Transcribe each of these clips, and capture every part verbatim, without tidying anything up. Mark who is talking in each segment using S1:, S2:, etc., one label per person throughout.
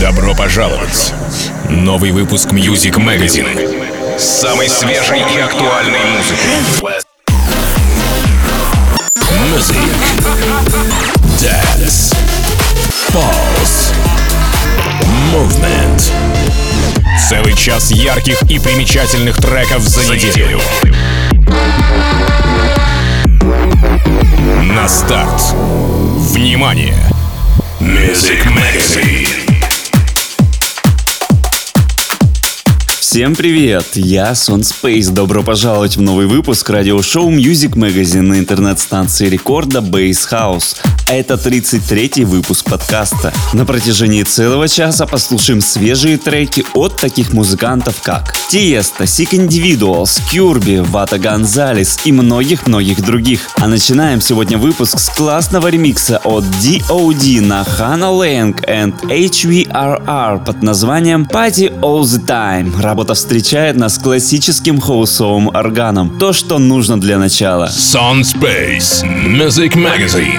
S1: Добро пожаловать! Новый выпуск Music Magazine с самой свежей и актуальной музыкой. Music, Dance, Pulse, Movement. Целый час ярких и примечательных треков за неделю. На старт. Внимание! Music Magazine.
S2: Всем привет, я Сон Спейс. Добро пожаловать в новый выпуск радиошоу Music Magazine на интернет-станции рекорда Bass House. А это тридцать третий выпуск подкаста. На протяжении целого часа послушаем свежие треки от таких музыкантов, как Tiesto, Sick Individuals, Curbi, Вата Гонзалес и многих-многих других. А начинаем сегодня выпуск с классного ремикса от ди о ди на Hannah Lang and эйч ви ар ар под названием Party All The Time. Работа встречает нас классическим хаусовым органом. То, что нужно для начала.
S1: Сон Спейс, Music Magazine.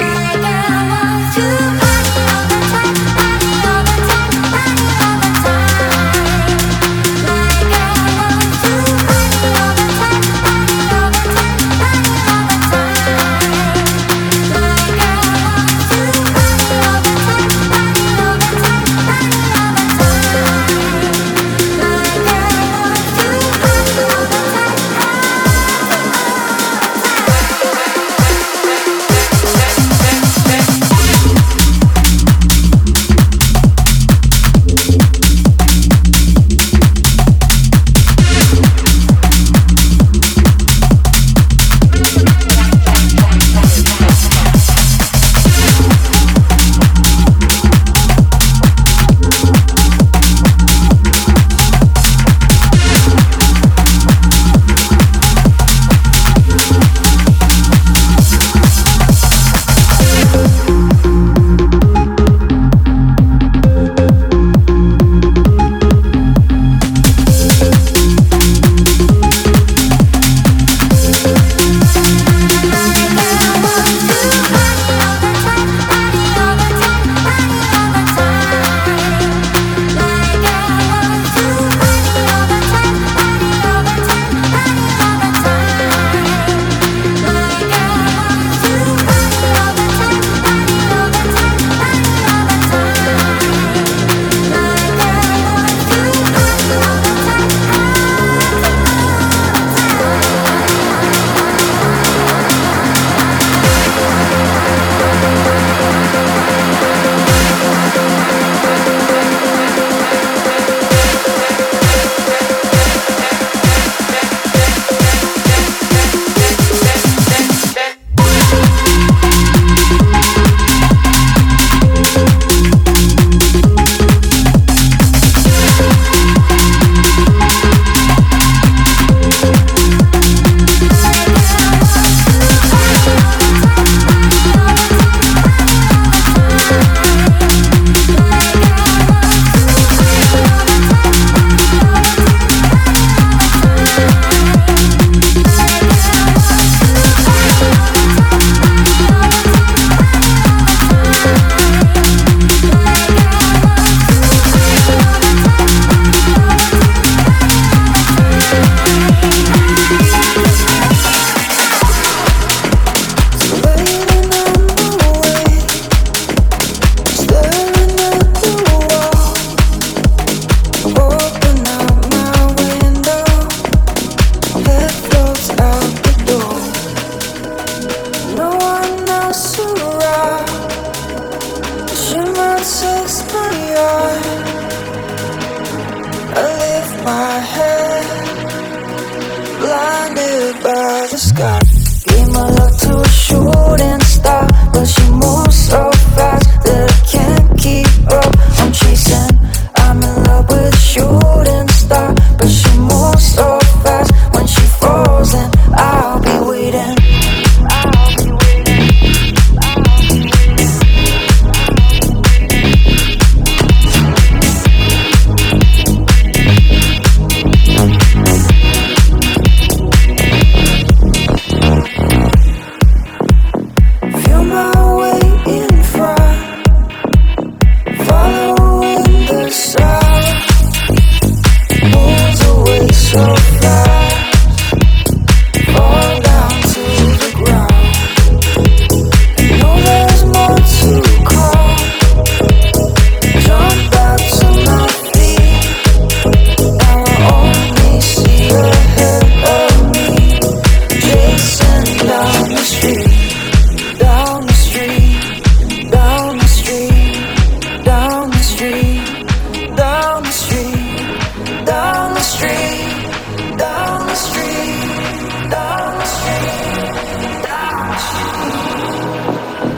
S3: street, down the street, down the street, down the street.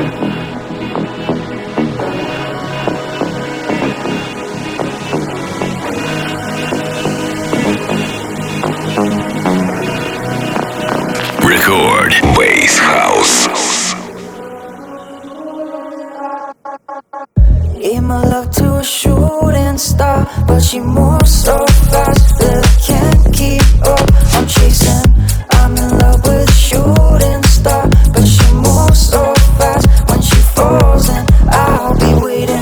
S1: Record Bass House.
S3: Gave my love to a shooting star, but she moves so fast that I can't keep up. I'm chasing, I'm in love with a shooting star, but she moves so fast. When she falls, then I'll be waiting.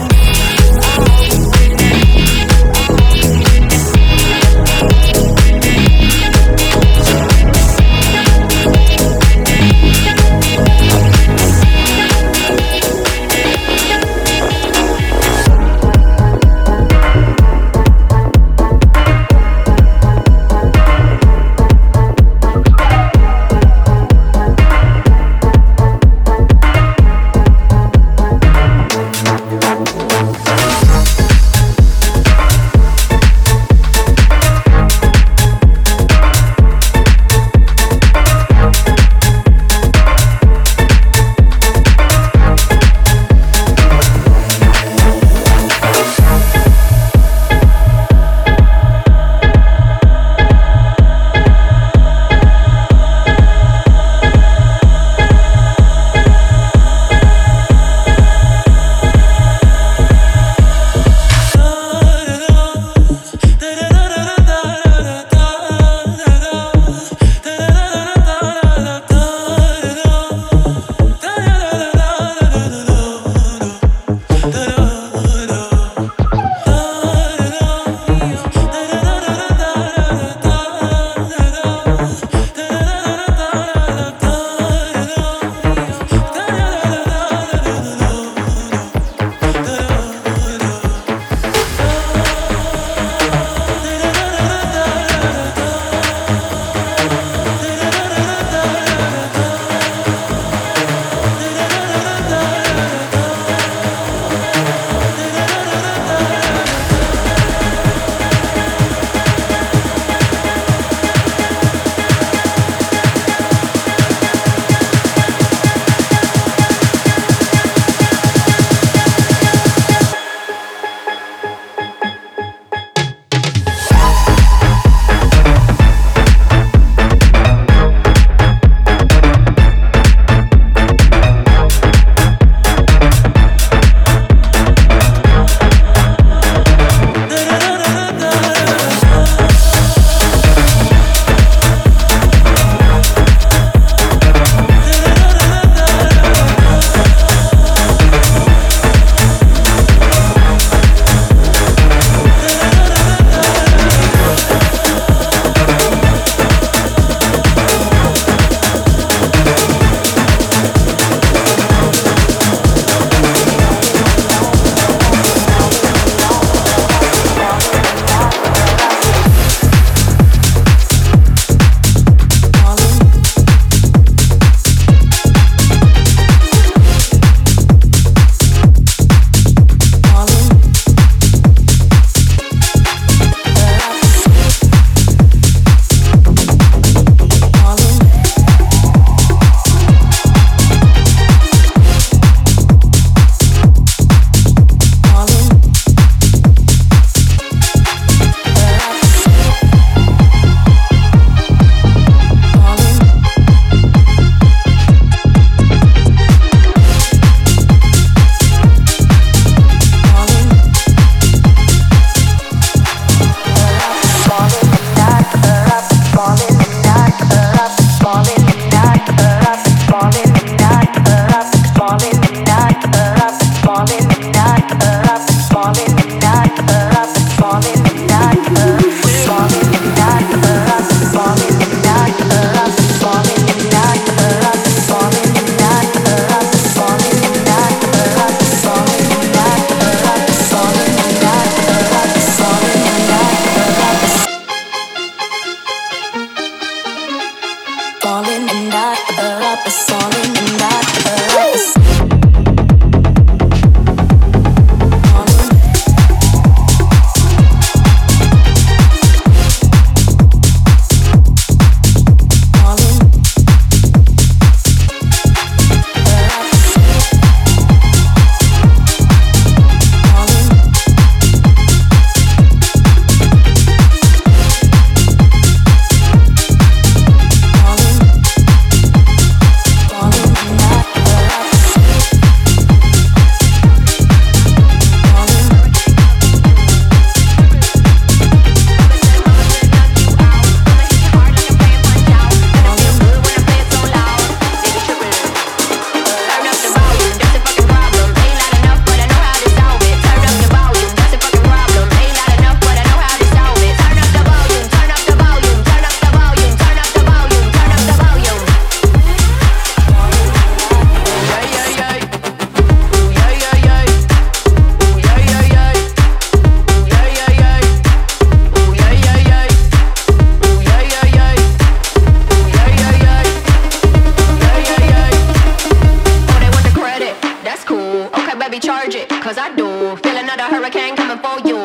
S4: hurricane coming for you.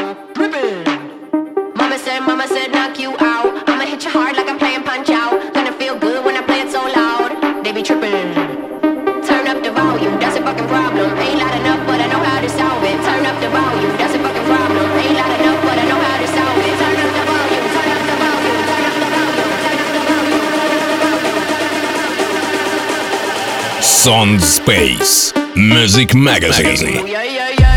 S4: Mama said, mama said, knock you out. I'ma hit you hard like I'm playing Punch Out. Gonna feel good when I play it so loud. They be tripping. Turn up the volume, that's a fucking problem. Ain't loud enough, but I know how to solve it. Turn up the volume, that's a fucking problem. Ain't loud enough, but I know how to solve it. Turn up the volume, turn up the volume, turn up the volume, turn up the volume, turn up the volume.
S1: Sound Space Music Magazine.
S4: Yeah, yeah, yeah.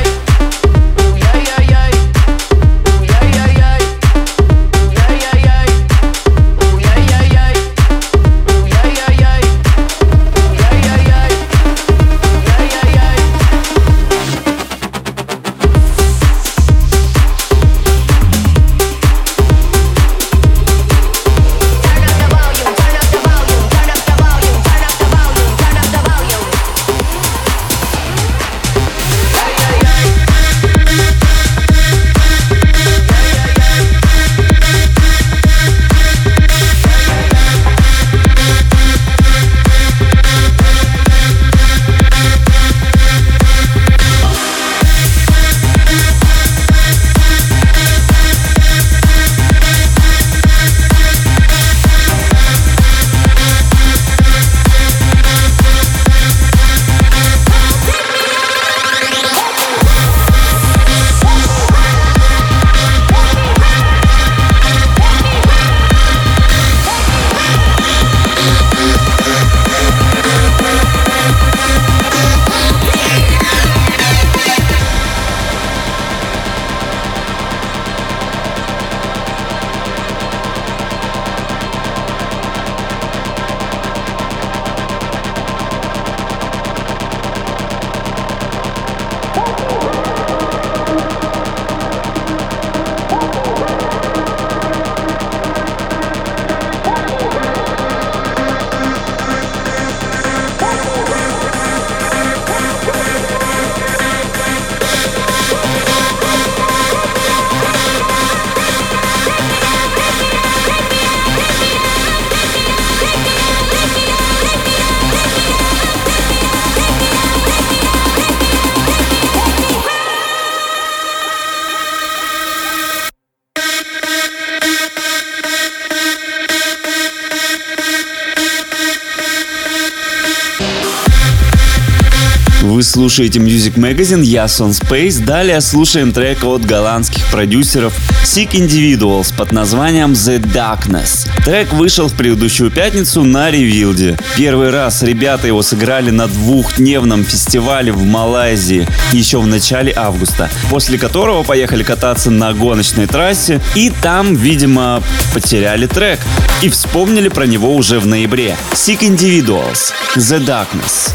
S2: Вы слушаете Music Magazine, я Sound Space. Далее слушаем трек от голландских продюсеров Sick Individuals под названием The Darkness. Трек вышел в предыдущую пятницу на Ревилде. Первый раз ребята его сыграли на двухдневном фестивале в Малайзии еще в начале августа, после которого поехали кататься на гоночной трассе и там, видимо, потеряли трек и вспомнили про него уже в ноябре. Sick Individuals, The Darkness.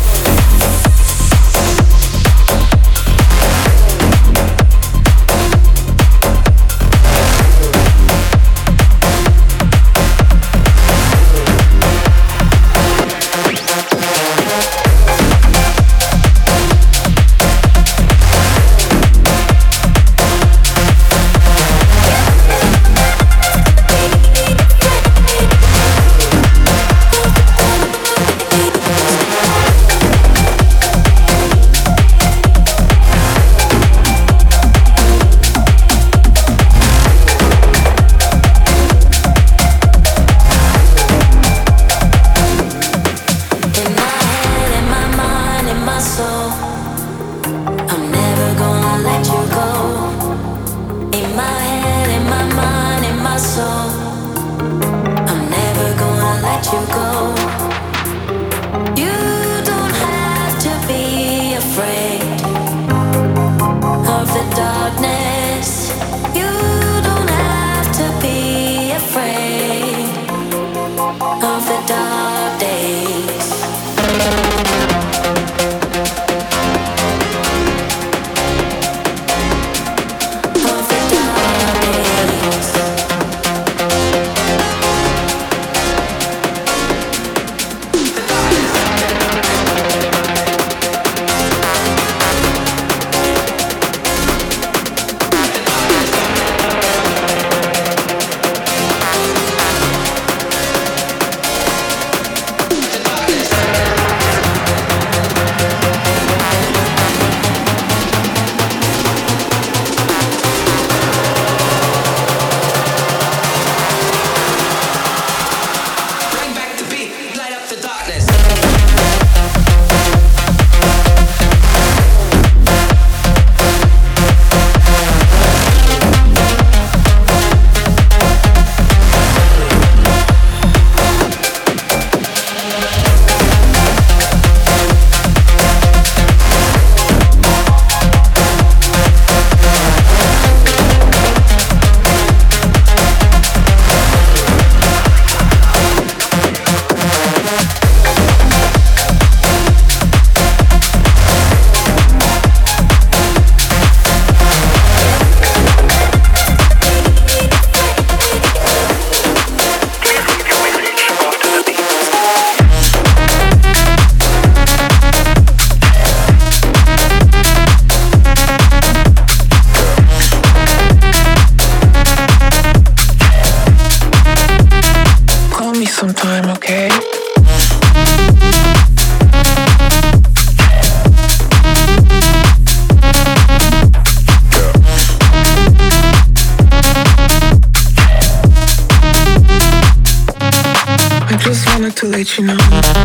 S5: let you know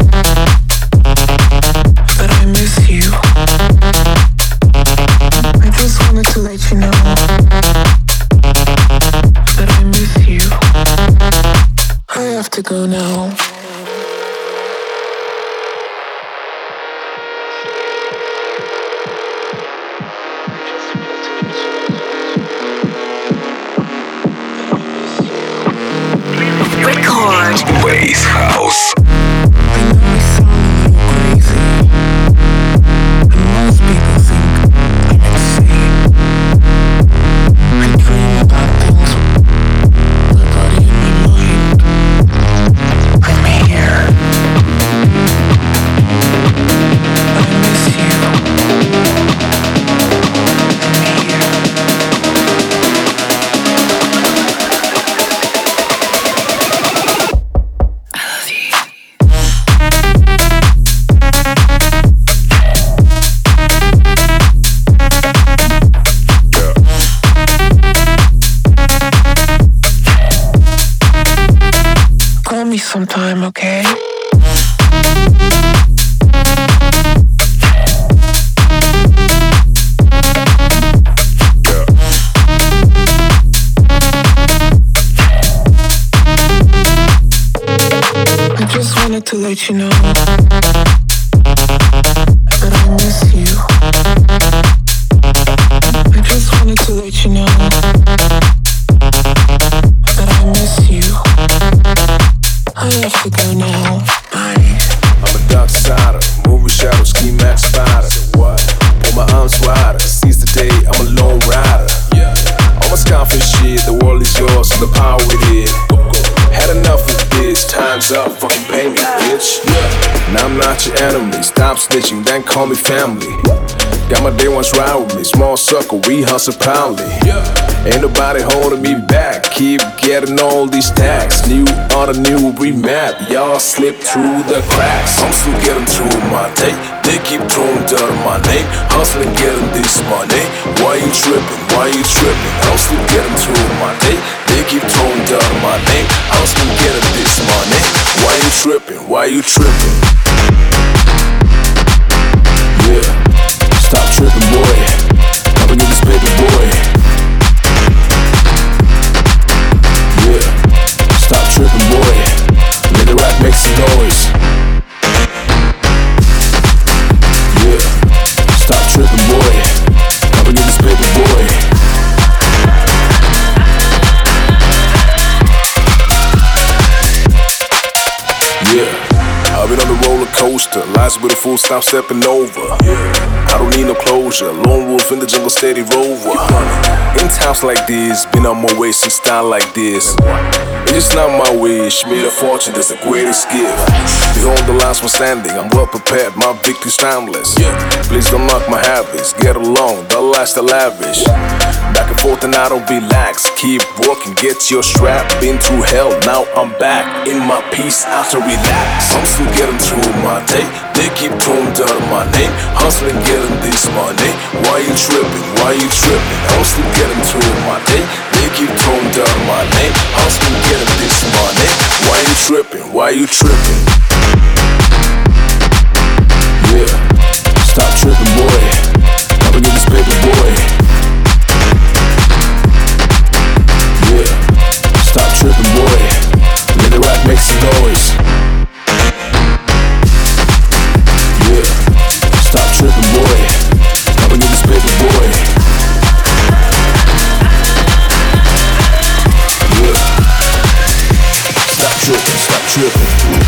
S5: that I miss you. I just wanted to let you know that I miss you. I have to go now.
S3: Record
S1: Bass House.
S5: I know I sound a little crazy, and most people think I'm insane. I dream about things with my body and my mind. I'm here. I miss you. I'm here. Call me sometime, okay? I just wanted to let you know that I miss you. I just wanted to let you know that I miss you. I have to go now. Bye.
S6: I'm a dark sider, movie shadow, ski max spider. What? Pull my arms wider, seize the day, I'm a lone rider. Yeah. All my scoffing shit, the world is yours, so the power it is. Had enough of this, time's up, fucking pay me, bitch. Yeah. Now I'm not your enemy, stop snitching, then call me family. Got my day ones ride with me, small circle, we hustle proudly. Yeah. Ain't nobody holding me back, keep getting all these tags. New on a new remap, y'all slip through the cracks. I'm still getting through my day, they keep throwing dirt on my name. Hustling, getting this money, why you tripping, why you tripping? I'm still getting through my day, they keep throwing dirt on my name. Hustling, getting this money, why you tripping, why you tripping? Yeah, stop tripping, boy, come and get this paper, boy. Yeah, stop tripping, boy, let the rap make some noise. Yeah, stop tripping, boy, come and get this paper, boy. Yeah, I've been on the roller coaster, lies with a fool, stop stepping over. I don't need no closure, lone wolf in the jungle, steady rover. In times like this, been on my way since style like this. It's just not my wish, made a fortune, that's the greatest gift. Behold the last one standing, I'm well prepared, my victory's timeless. Please don't knock my habits, get along, the last the lavish. Back and forth and I don't relax, keep working, get your strap. Been through hell, now I'm back in my peace after relax. I'm still getting through my day, they keep throwing dirt on my name. Hustling, getting this money, why you tripping, why you tripping? I'm still getting through my day, they keep throwing dirt on my name. Hustling, getting this money, why you tripping, why you tripping? Yeah, stop tripping, boy, come and get this paper, boy. Yeah, stop tripping, boy, let the rap make some noise. Yeah, stop tripping, boy, come and get this paper, boy. Yeah, stop tripping, stop tripping.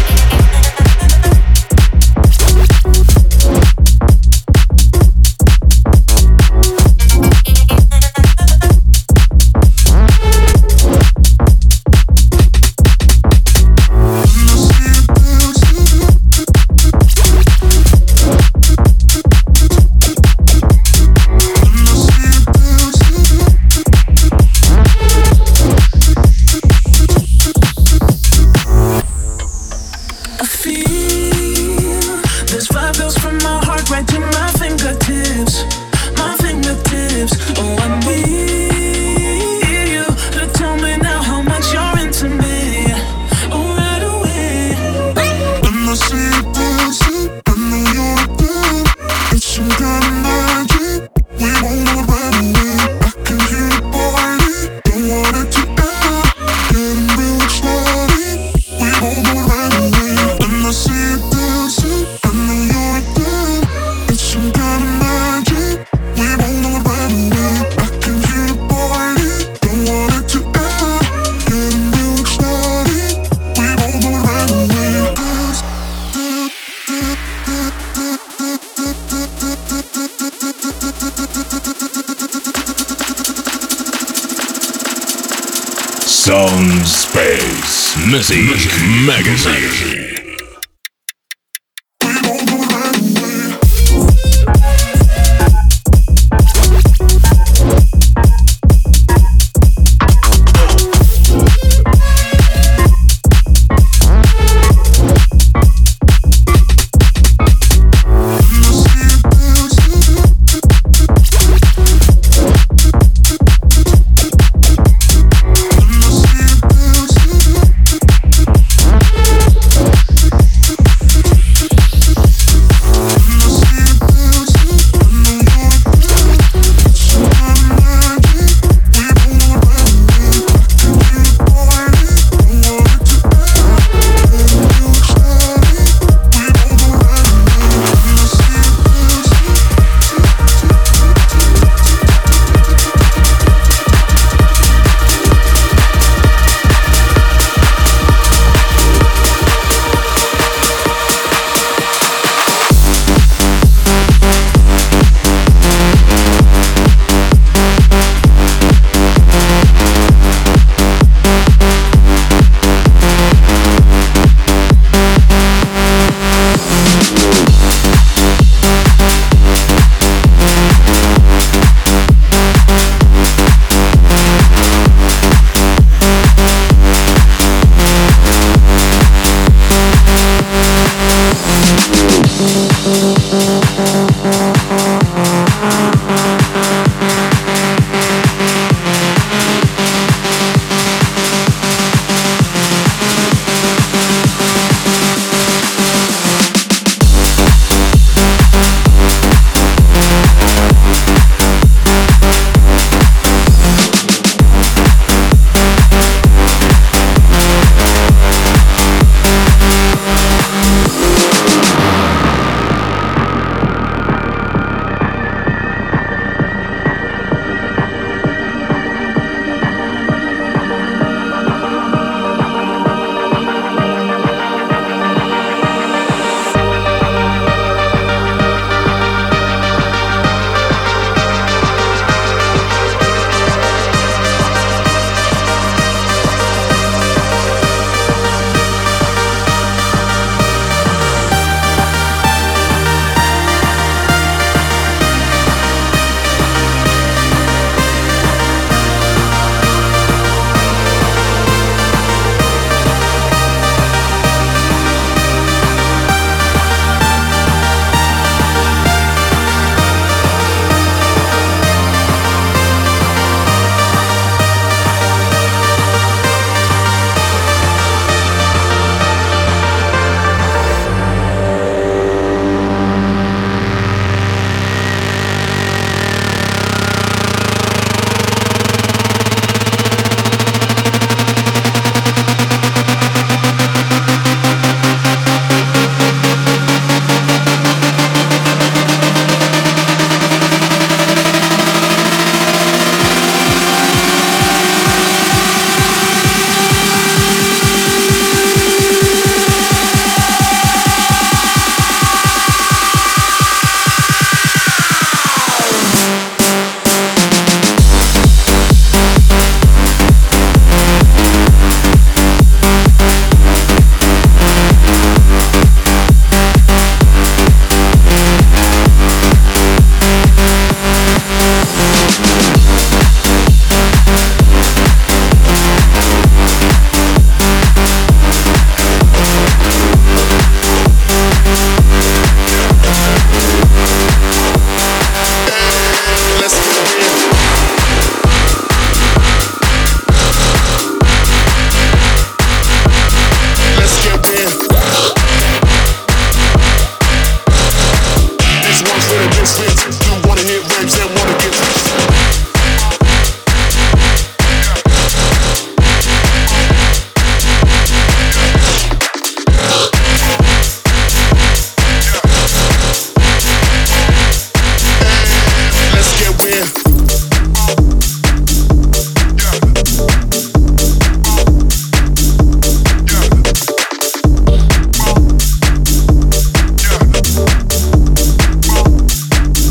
S1: Sound Space Music Magazine.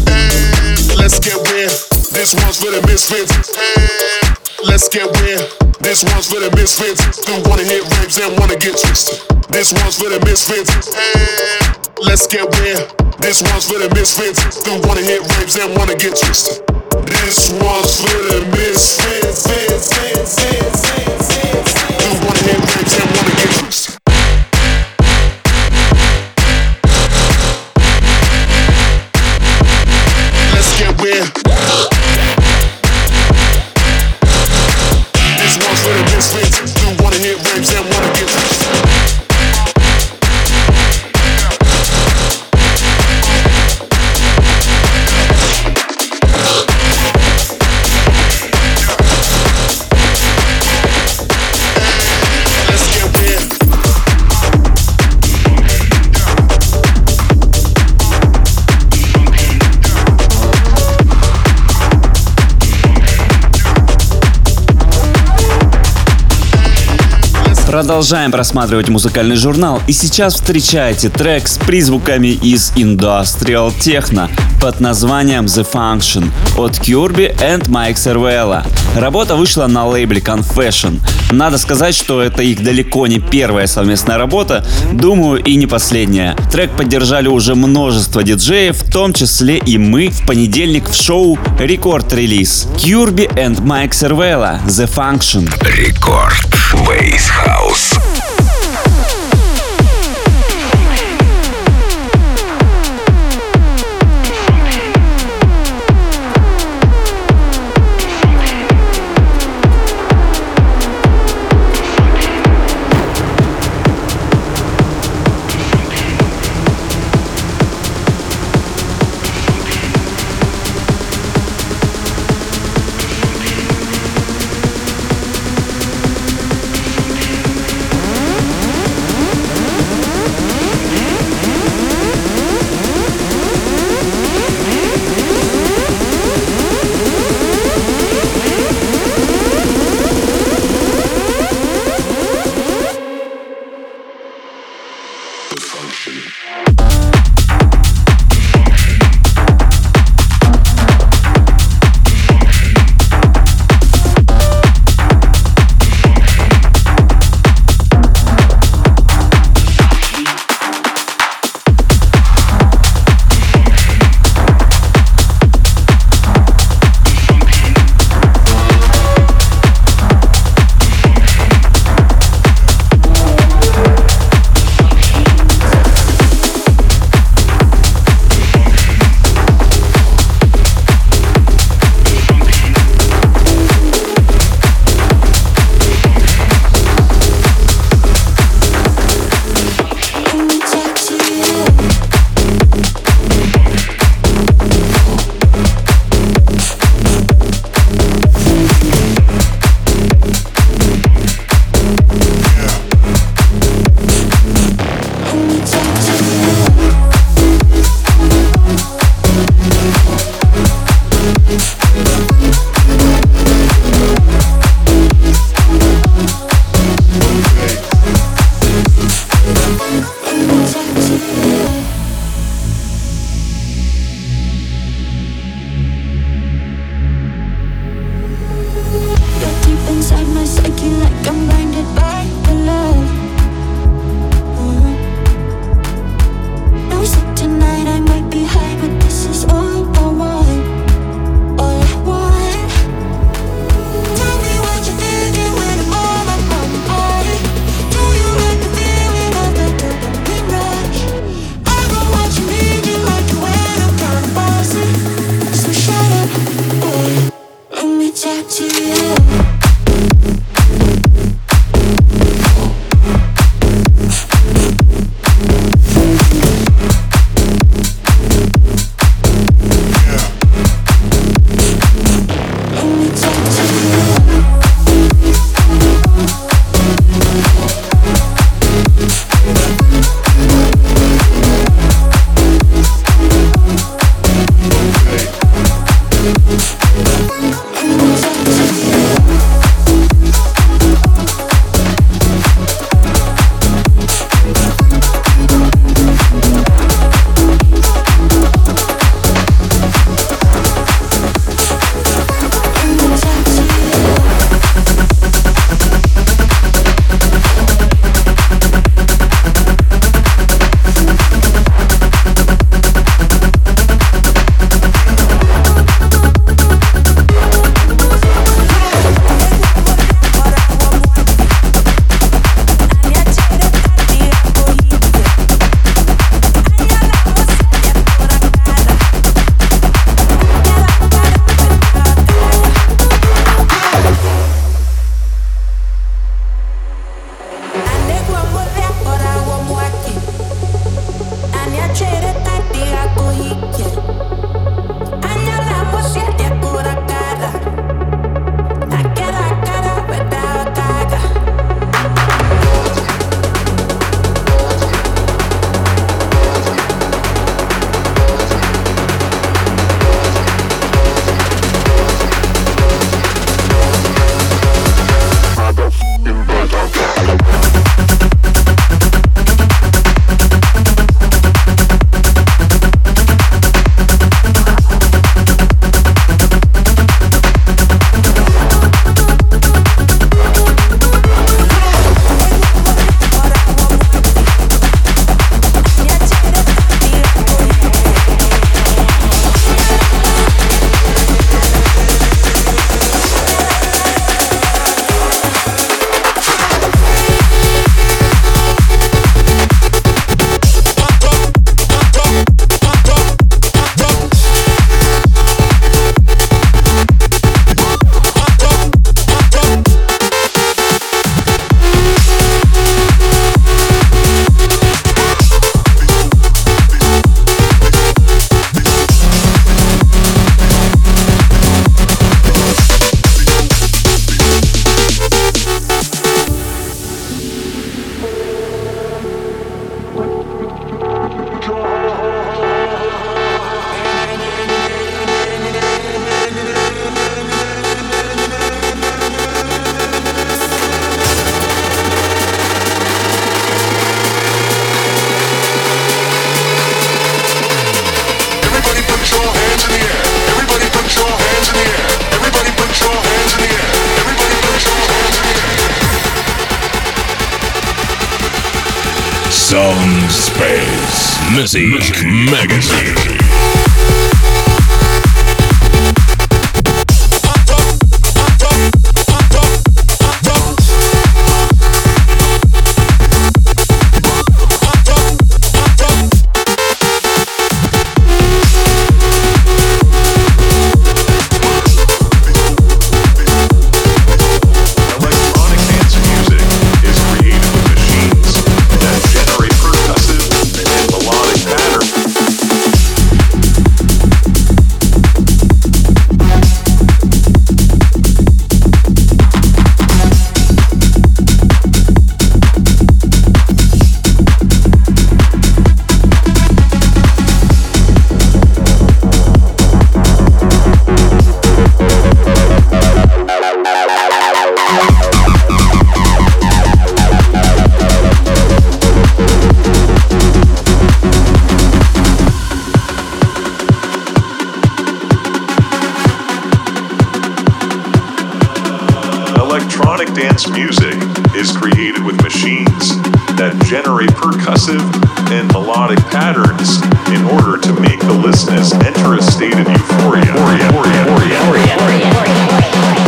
S7: This one's for the misfits. Hey, let's get weird. This one's for the misfits who wanna hit raves and wanna get twisted. This one's for the misfits. Let's get weird. This one's for the misfits who wanna hit raves and wanna get twisted. This one's for the misfits who wanna hit raves and wanna get twisted. Let's get weird. This one's for the misfits who wanna hit raves and wanna get twisted.
S2: Продолжаем просматривать музыкальный журнал, и сейчас встречайте трек с призвуками из Industrial Techno под названием The Function от Kirby and Mike Cervella. Работа вышла на лейбле Confession. Надо сказать, что это их далеко не первая совместная работа, думаю, и не последняя. Трек поддержали уже множество диджеев, в том числе и мы в понедельник в шоу Record Release. Kirby and Mike Cervella, The Function.
S1: Рекорд Bass House. Sound Space Music Magazine.
S8: Electronic dance music is created with machines that generate percussive and melodic patterns in order to make the listeners enter a state of euphoria. Euphoria, euphoria, euphoria, euphoria.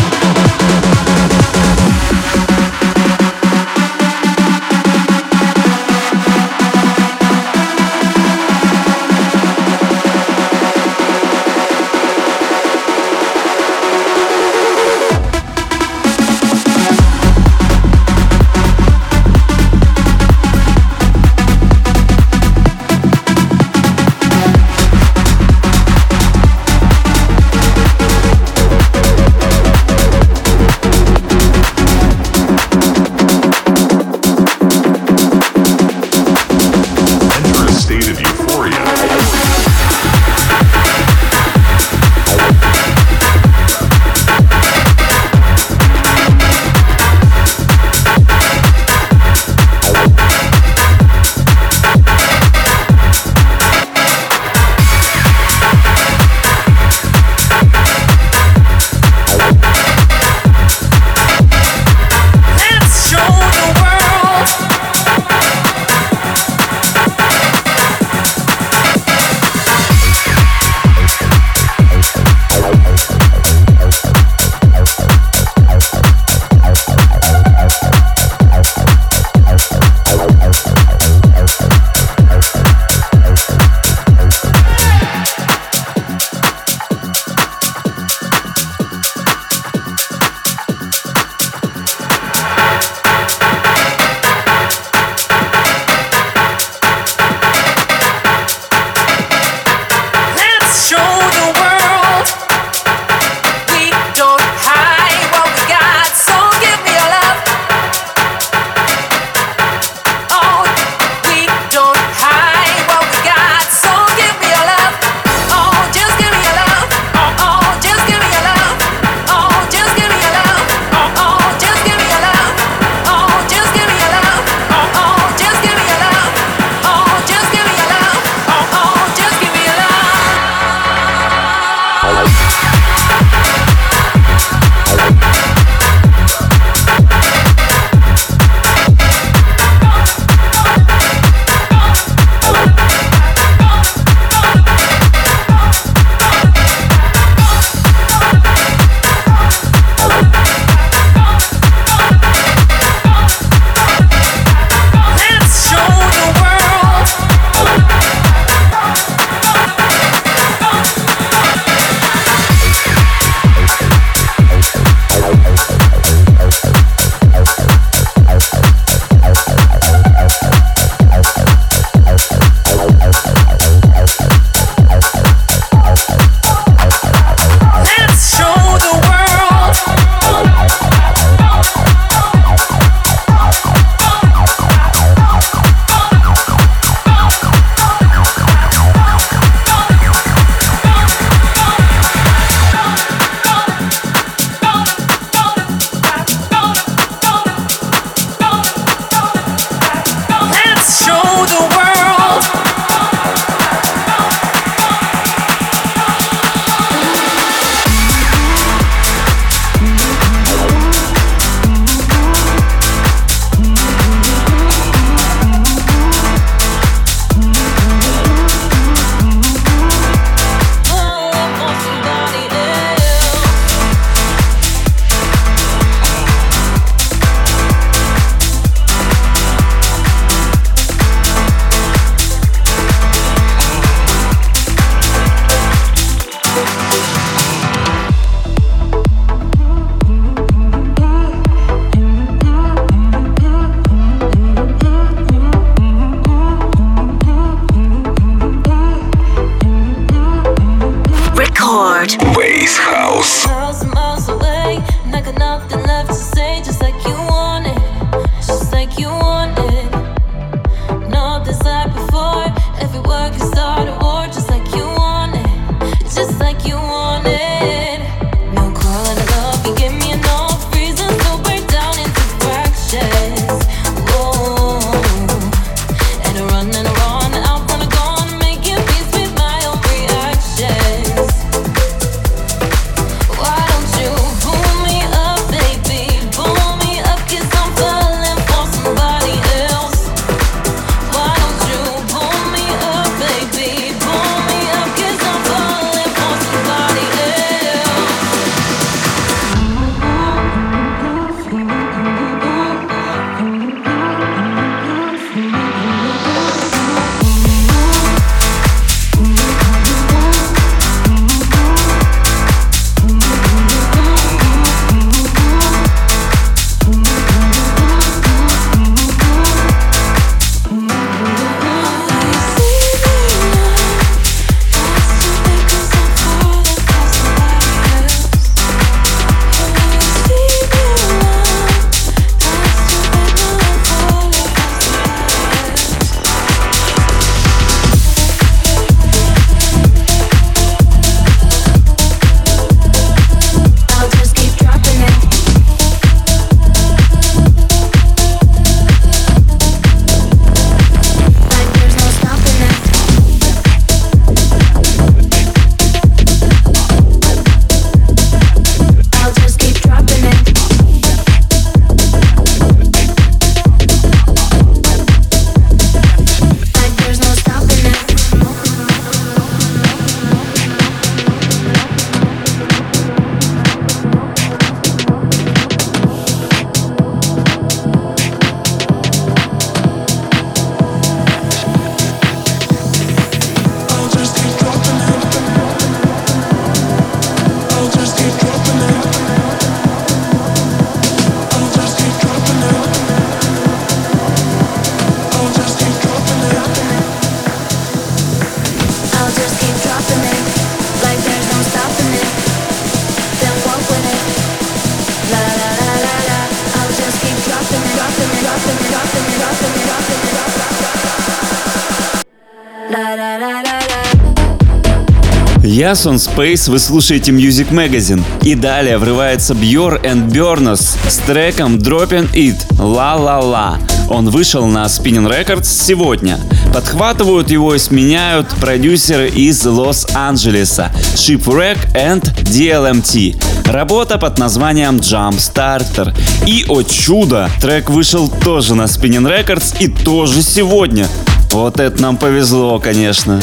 S2: Я Сон Space, вы слушаете Music Magazine. И далее врывается Björn and Björnus с треком Dropping It La La La. Он вышел на Spinnin' Records сегодня. Подхватывают его и сменяют продюсеры из Лос-Анджелеса Shipwreck and ди эл эм ти. Работа под названием Jump Starter. И, о чудо, трек вышел тоже на Spinnin' Records и тоже сегодня. Вот это нам повезло, конечно.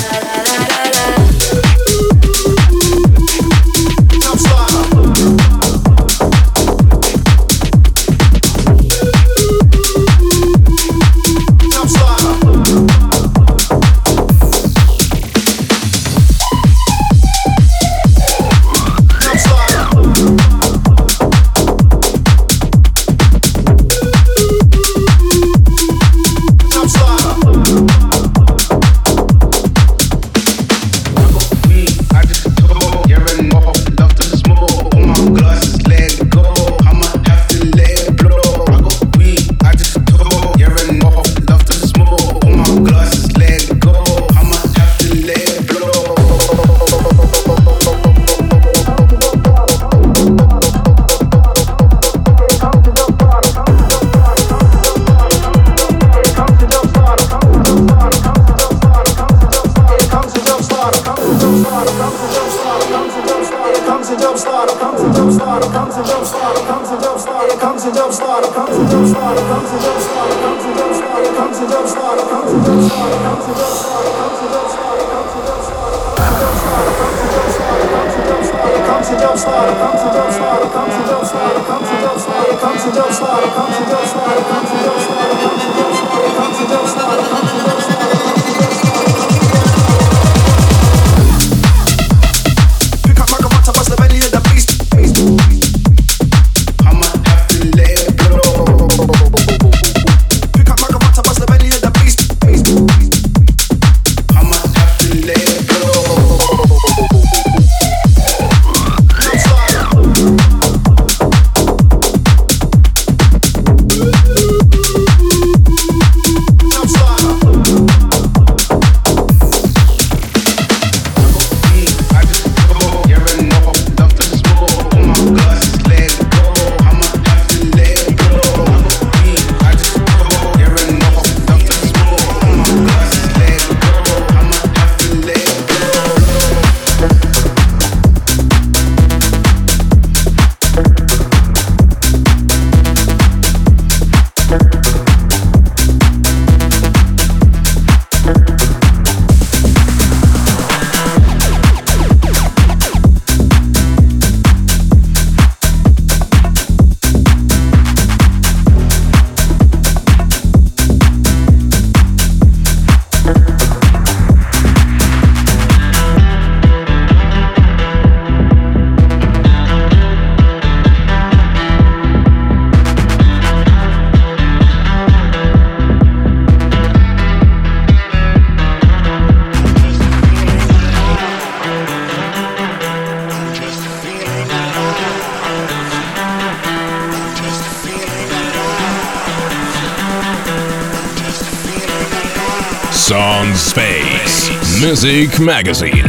S1: Сон Space Music Magazine.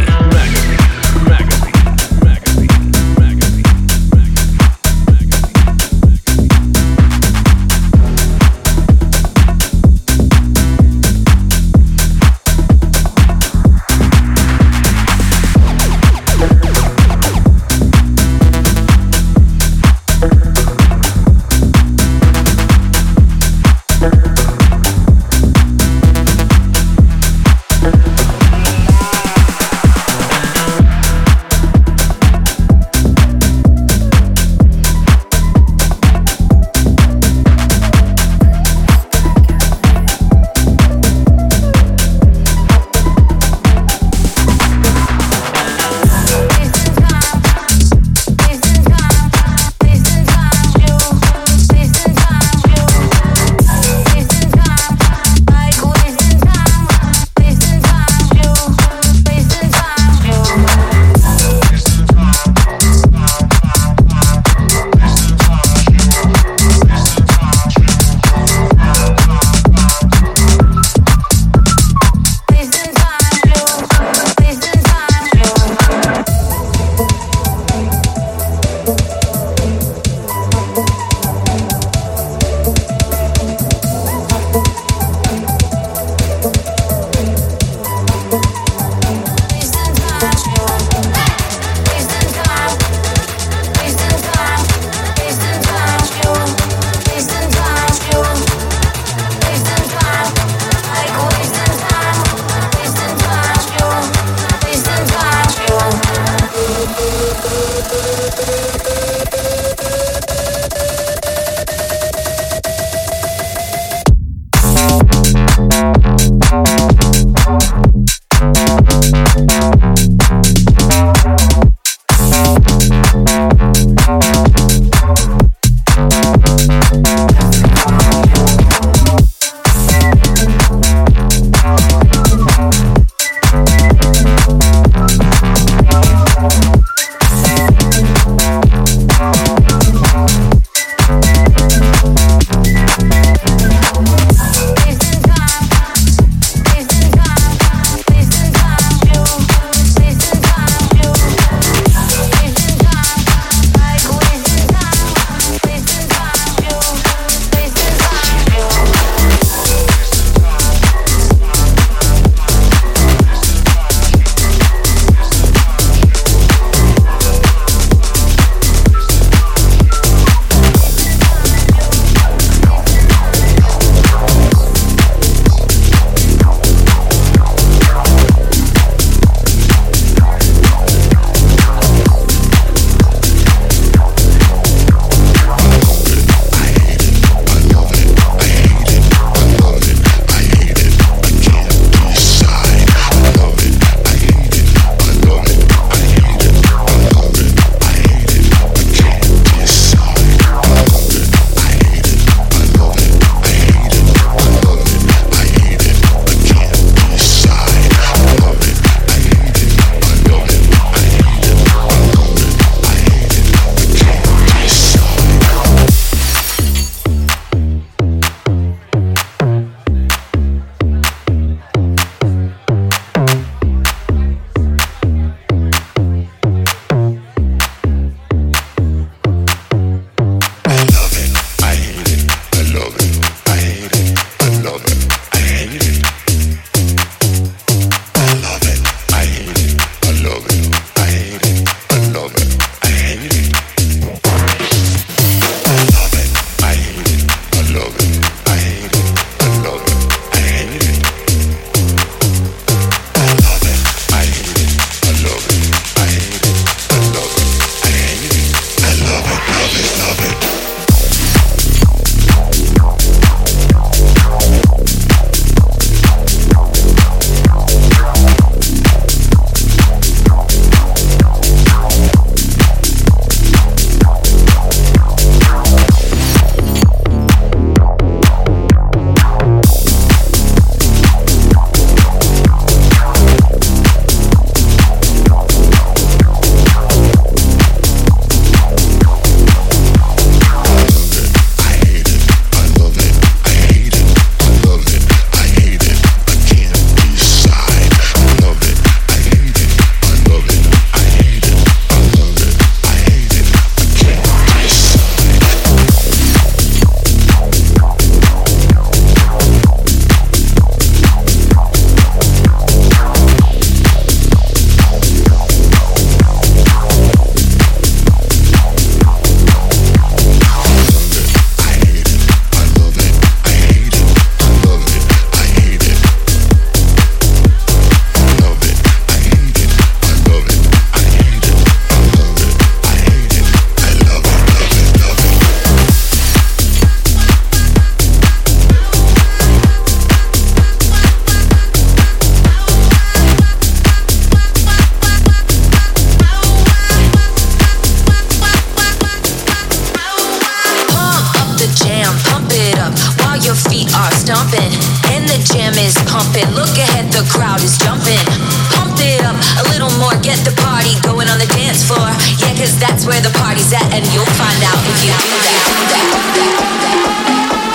S9: bumping, and the jam is pumping. Look ahead, the crowd is jumping. Pump it up a little more, get the party going on the dance floor. Yeah, cause that's where the party's at, and you'll find out if you do that, do that, do that, do that.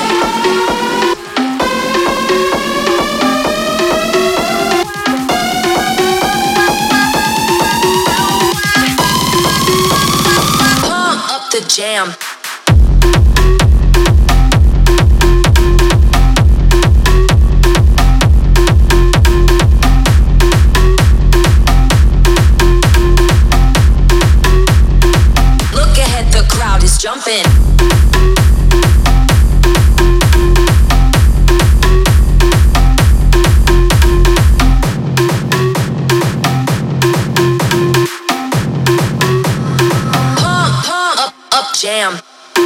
S9: The jam. Look ahead, the crowd is jumping. Jam.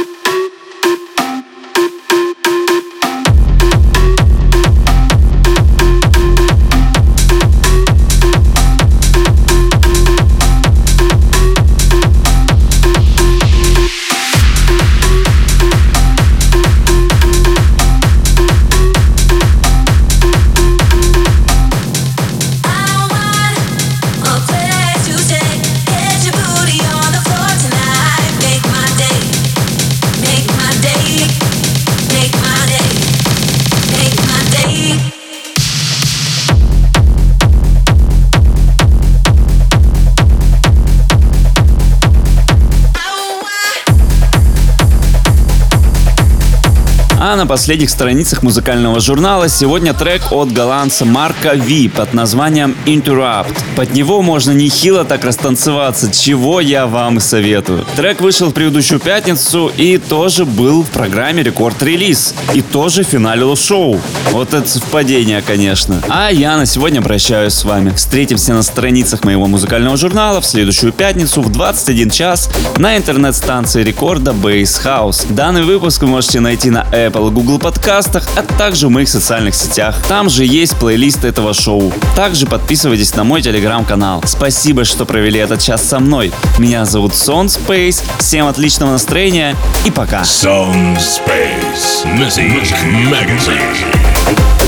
S2: А на последних страницах музыкального журнала сегодня трек от голландца Марка Ви под названием Interrupt. Под него можно нехило так растанцеваться, чего я вам и советую. Трек вышел в предыдущую пятницу и тоже был в программе рекорд-релиз. И тоже финалил шоу. Вот это совпадение, конечно. А я на сегодня прощаюсь с вами. Встретимся на страницах моего музыкального журнала в следующую пятницу в двадцать один час на интернет-станции рекорда Bass House. Данный выпуск вы можете найти на Apple и Google подкастах, а также в моих социальных сетях. Там же есть плейлист этого шоу. Также подписывайтесь на мой телеграм-канал. Спасибо, что провели этот час со мной. Меня зовут Sound Space. Всем отличного настроения и пока.
S1: Sound Space Music Magazine.